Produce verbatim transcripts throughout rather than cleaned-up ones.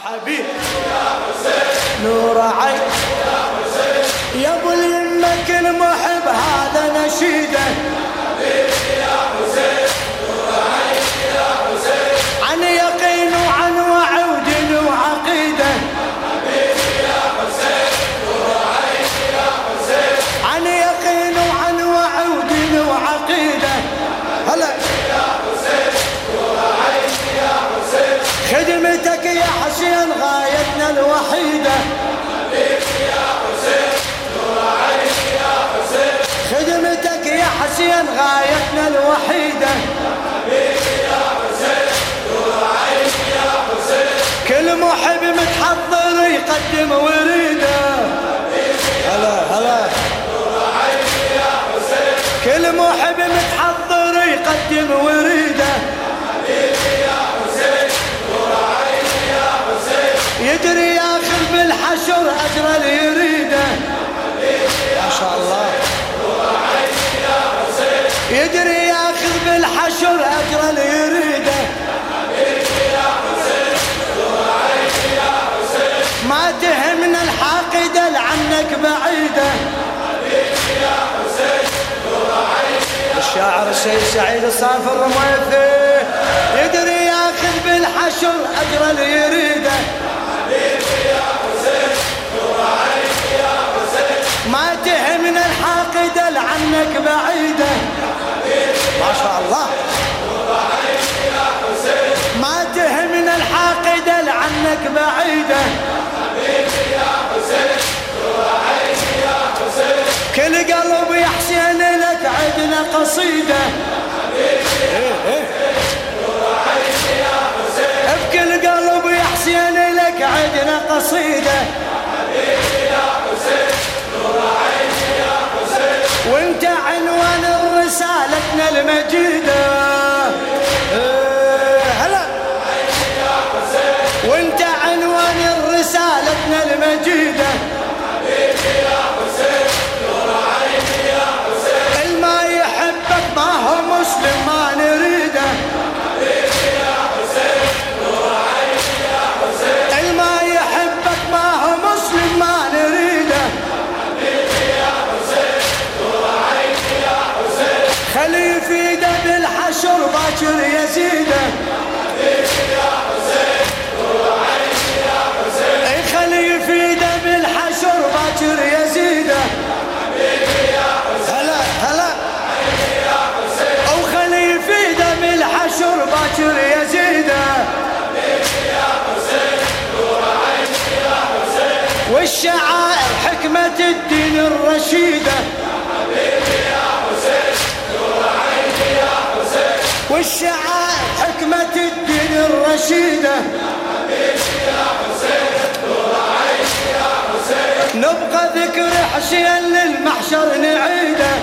حبيب يا حسين نور عين يا حسين يا ابو اليمة كل محب هذا نشيده حبيبي يا حسين نور عين يا حسين عن يقين وعن وعود وعقيده حبيبي يا حسين نور عين يا حسين عن يقين وعن وعود وعقيده هلا يا حسين نور عين يا حسين خدمتك يا حسين غايتنا الوحيدة حبيبي يا حسين نور عين يا حسين خدمتك يا حسين غايتنا الوحيدة حبيبي يا حسين نور عين يا حسين كل محب متحضر يقدم وريده حبيبي هلا هلا نور عين يا حسين كل محب متحضر يقدم وريده حبيبي يا حسين نور عين يا حسين يدري ياخذ بالحشر اجر اللي يريده حبيبي ما شاء الله نور عين يا حسين يدري ياخذ بالحشر اجر اللي يريده حبيبي يا حسين نور عين يا حسين ما تهمنا الحاقده لعنك بعيده حبيبي يا حسين نور عين يا الشاعر السيد سعيد الصافي الرميثي يدري ياخذ بالحشر اجر اللي يريده حبيبي يا حسين نور عين يا حسين ما تهمنا الحاقده لعنك بعيده حبيبي ما شاء الله نور عين يا حسين ما تهمنا الحاقده لعنك بعيده حبيبي يا حسين نور عين يا حسين كل قلب يا حسين لك عدنا قصيده حبيبي يا حسين نور عين يا حسين بكل قلب يا حسين لك عدنا قصيده حبيبي يا حسين نور عين يا حسين وانت عنوان رسالتنا المجيده هلا يا حسين وانت عنوان رسالتنا المجيده حبيبي يا حسين نور عين يا حسين الما يحبك ما هو مسلم ما نريده حبيبي يا حسين نور عين يا حسين الما يحبك ما هو مسلم ما نريده حبيبي يا حسين نور عين يا حسين خلي يفيده بالحشر باكر يزيده حبيبي يا حسين نور عين يا حسين اي خلي يفيده بالحشر باكر يزيده حبيبي يا حسين هلا هلا يا حسين او خلي يفيده بالحشر باكر يزيده حبيبي يا حسين نور عين يا حسين والشعائر حكمة الدين الرشيده حبيبي يا حسين نور عين يا حسين والشعائر حكمة الدين الرشيده حبيبي يا حسين نور عين يا حسين نبقى ذكر حسين للمحشر نعيده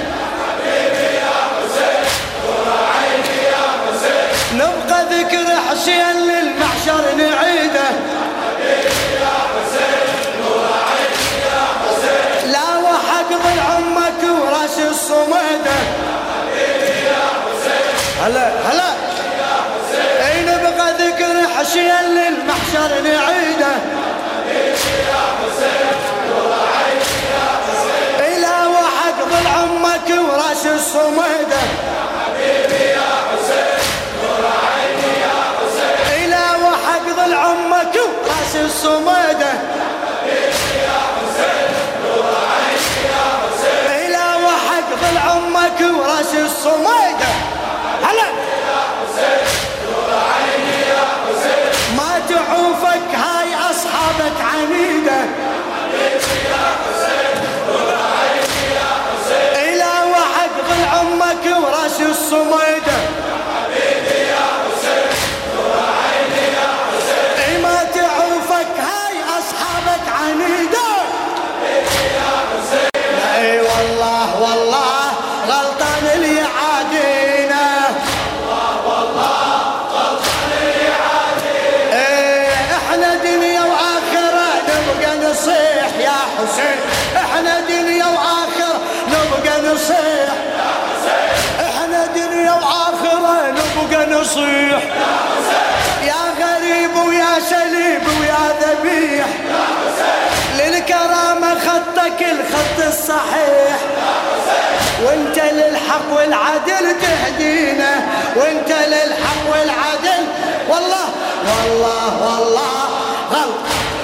حبيبي يا حسين نور عين يا حسين نبقى ذكر حسين للمحشر نعيده حبيبي يا حسين نور عين يا حسين لا وحق ضل عمك وراس الصميده حبيبي يا حسين هلا هلا يا حسين اي نبقى ذكر حسين للمحشر نعيده حبيبي يا حسين نور عين يا حسين اي لا وحق ضل عمك وراس الصميده حبيبي يا حسين نور عين يا حسين اي لا وحق ضل عمك وراس الصميده حبيبي يا حسين نور عين يا حسين اي لا وحق ضل عمك وراس الصميده هلا يا حسين نور عين يا حسين ما تعوفك هاي اصحابك عنيده حبيبي يا حسين نور عين يا حسين اي لا وحق ضل عمك وراس الصميده حبيبي يا حسين نور عين يا حسين اي ما تعوفك هاي اصحابك عنيده حبيبي يا حسين اي والله والله غلطان اللي يعادينا والله والله غلطان اللي يعادينا ايه احنا دنيا واخره نبقى نصيح يا حسين احنا دنيا واخره نبقى نصيح يا حسين احنا دنيا واخره نبقى نصيح يا حسين يا غريب ويا سليب ويا لك الخط الصحيح، وانت للحق والعدل تهدينا، وانت للحق والعدل. والله والله والله غلط،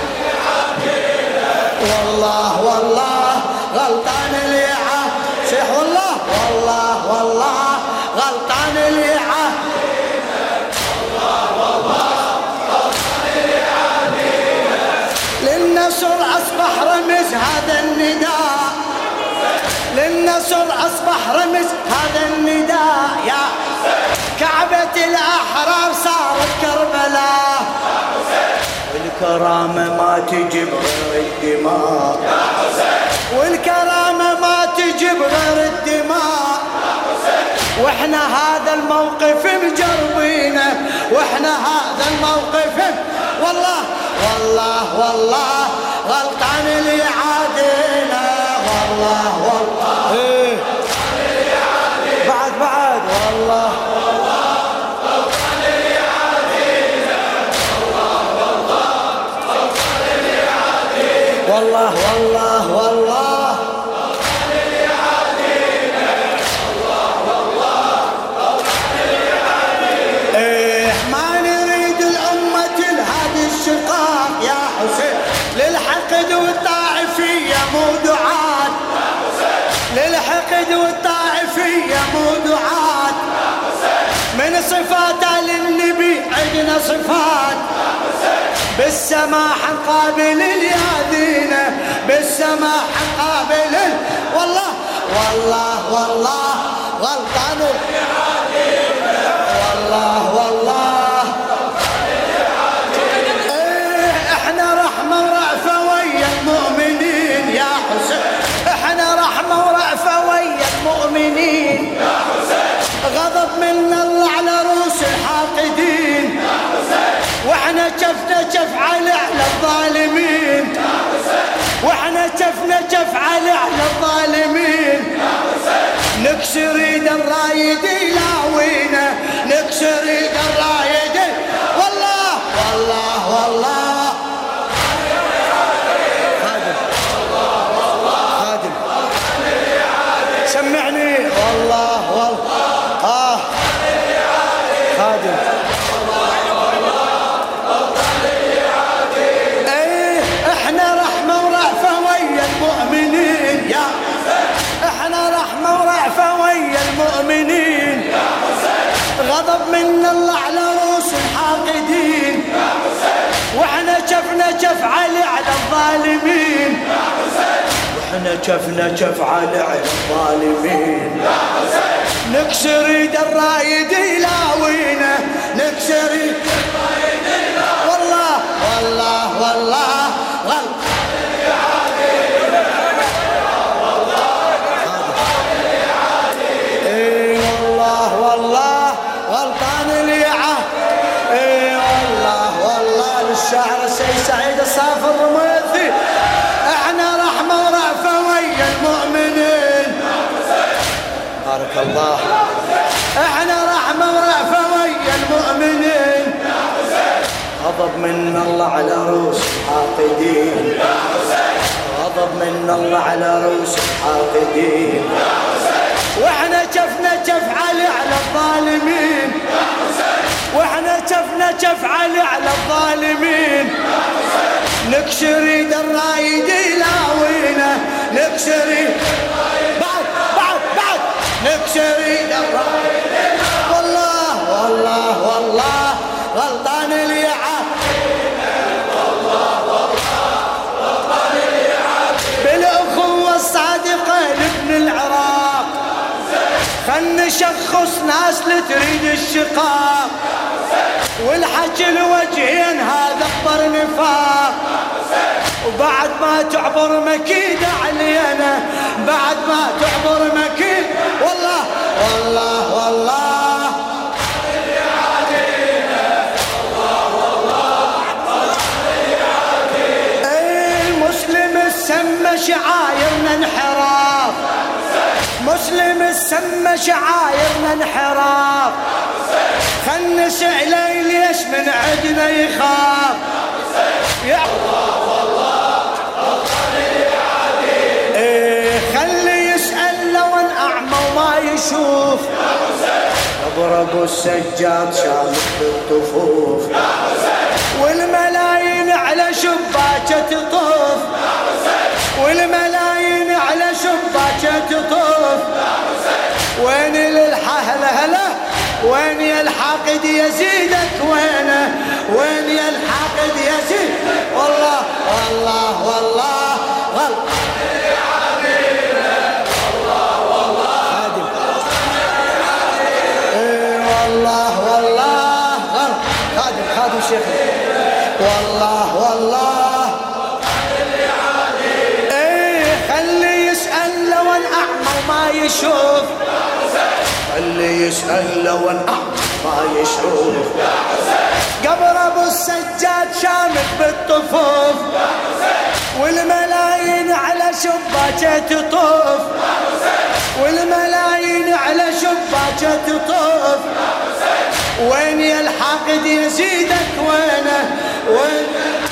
والله والله غلطان اللي عاشح، والله والله والله غلطان اللي عادينا، والله والله غلطان اللي عادينا. للنصر أصبح رمز هذا النداء، للنصر أصبح رمز هذا النداء، يا كعبة الأحرار صارت كربلاء، والكرامة ما تجيب غير الدماء، والكرامة ما تجيب غير الدماء. واحنا هذا الموقف مجربينه، واحنا هذا الموقف والله والله والله غلطان اللي عادينا، والله والله إيه. بعد بعد والله والله غلطان اللي عادينا، والله والله غلطان اللي عادينا، والله والله والله غلطان اللي عادينا، والله والله غلطان اللي عادينا. إيه ما نريد الأمة لهذا الشقاق يا حسين، للحقد والطائفية مو دعاة، للحقد والطائفية مو دعاة. من صفاته للنبي عندنا صفات، بالسماح قابل اليادينا، بالسماح قابل. والله والله والله غلطان والله والله ايه. احنا رحمة ورأفة ويا المؤمنين يا حسين، احنا رحمة ورأفة ويا المؤمنين يا حسين. غضب من الله على رؤوس الحاقدين يا حسين، واحنا شفنا شف على الظالمين يا حسين، واحنا شفنا شف على الظالمين يا حسين. نكسر ايد الرايد يلاوينا، نكسر ايد الرايد. والله والله والله خادم خادم سمعني، والله والله اه خادم. ايه احنا رحمة ورأفة ويا المؤمنين يا حسين، احنا رحمة ورأفة ويا المؤمنين يا حسين. غضب من الله على رؤوس الحاقدين يا حسين، واحنا شفنا شف علي على الظالمين يا حسين، واحنا شفنا شف علي على الظالمين يا حسين. نكسر ايد الرايد يلاوينا، نكسر ايد الرايد يلاوينا. والله والله والله غلطان اللي عادينا، والله غلطان اللي عادينا. اي والله والله غلطان اللي عادينا. اي والله والله. للشاعر السيد سعيد الصافي الرميثي، احنا رحمة ورأفة ويا المؤمنين. بارك الله. احنا رحمة ورأفة ويا المؤمنين. غضب من الله على رؤوس الحاقدين، غضب من الله على رؤوس الحاقدين. واحنا شفنا شف علي على الظالمين، واحنا شفنا شف علي على الظالمين. نكسر ايد الرايد يلاوينا، نكسر ايد بعد بعد بعد نكسر ايد الرايد. والله والله والله غلطان اللي عادينا، والله والله غلطان اللي عادينا. بالأخوة الصادقة لابن العراق، خل نشخص ناس لتريد الشقاق، والحكي الوجهين هذا اكبر نفاق. وبعد ما تعبر مكيدة علينا، بعد ما تعبر مكيد. والله والله والله اللي عادينا، والله والله اللي عادينا. اي المسلم السمى شعايرنا انحراف، مسلم السمى شعايرنا انحراف. خل نسأل ليش من عندنا يخاف. يا الله والله غلطان اللي عادينا. ابو السجاد شامت بالطفوف والملايين على شباكه تطوف والملايين على شباكه تطوف وين للحهله هلا وين يا الحاقد يزيدك وينه وين يا الحاقد يزيد والله والله والله والله والله والله خادم خادم شيخ والله والله ايه خلي يسأل لو اعمى وما يشوف خلي يسأل لو اعمى ما يشوف قبر ابو السجاد شامت بالطفوف والملايين على شباكه تطوف والملايين على شباكه تطوف وين يا الحاقد يزيدك وينه وين